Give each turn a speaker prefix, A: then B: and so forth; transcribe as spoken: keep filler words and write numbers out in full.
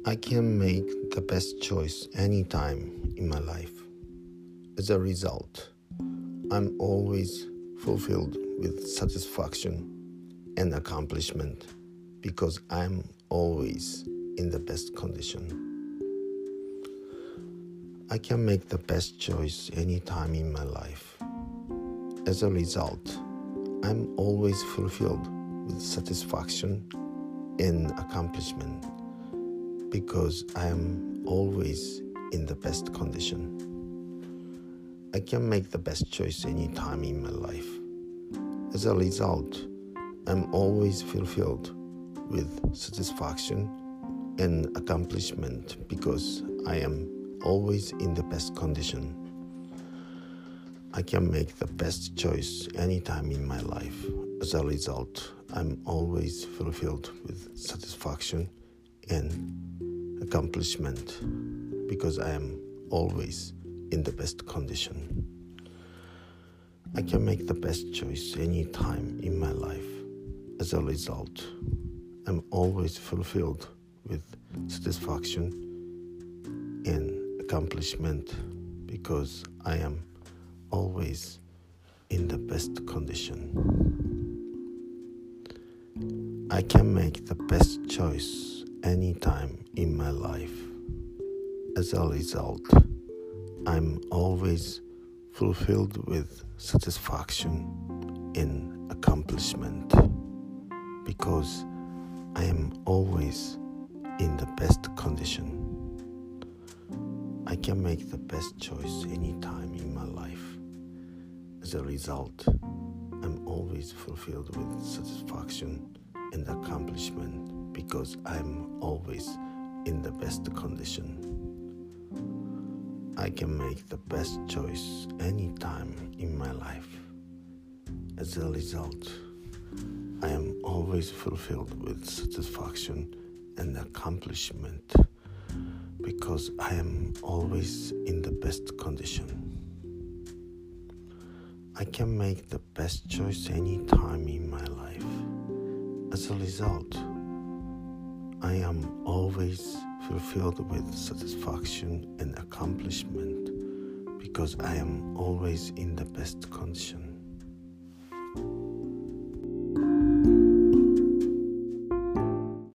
A: I can make the best choice anytime in my life. As a result, I'm always fulfilled with satisfaction and accomplishment because I'm always in the best condition. I can make the best choice anytime in my life. As a result, I'm always fulfilled with satisfaction and accomplishment because I am always in the best condition. I can make the best choice anytime in my life. As a result, I'm always fulfilled with satisfaction and accomplishment because I am always in the best condition. I can make the best choice anytime in my life. As a result, I'm always fulfilled with satisfaction and accomplishment because I am always in the best condition. I can make the best choice anytime in my life. As a result, I'm always fulfilled with satisfaction and accomplishment because I am always in the best condition. I can make the best choice anytime in my life. As a result, I'm always fulfilled with satisfaction and accomplishment because I am always in the best condition. I can make the best choice anytime in my life. As a result, I'm always fulfilled with satisfaction and accomplishment because I'm always in the best condition. I can make the best choice anytime in my life. As a result, I am always fulfilled with satisfaction and accomplishment because I am always in the best condition. I can make the best choice anytime in my life. As a result, I am always fulfilled with satisfaction and accomplishment because I am always in the best condition.